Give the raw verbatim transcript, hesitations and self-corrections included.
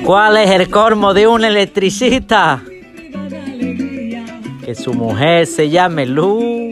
¿Cuál es el colmo de un electricista? Que su mujer se llame Luz.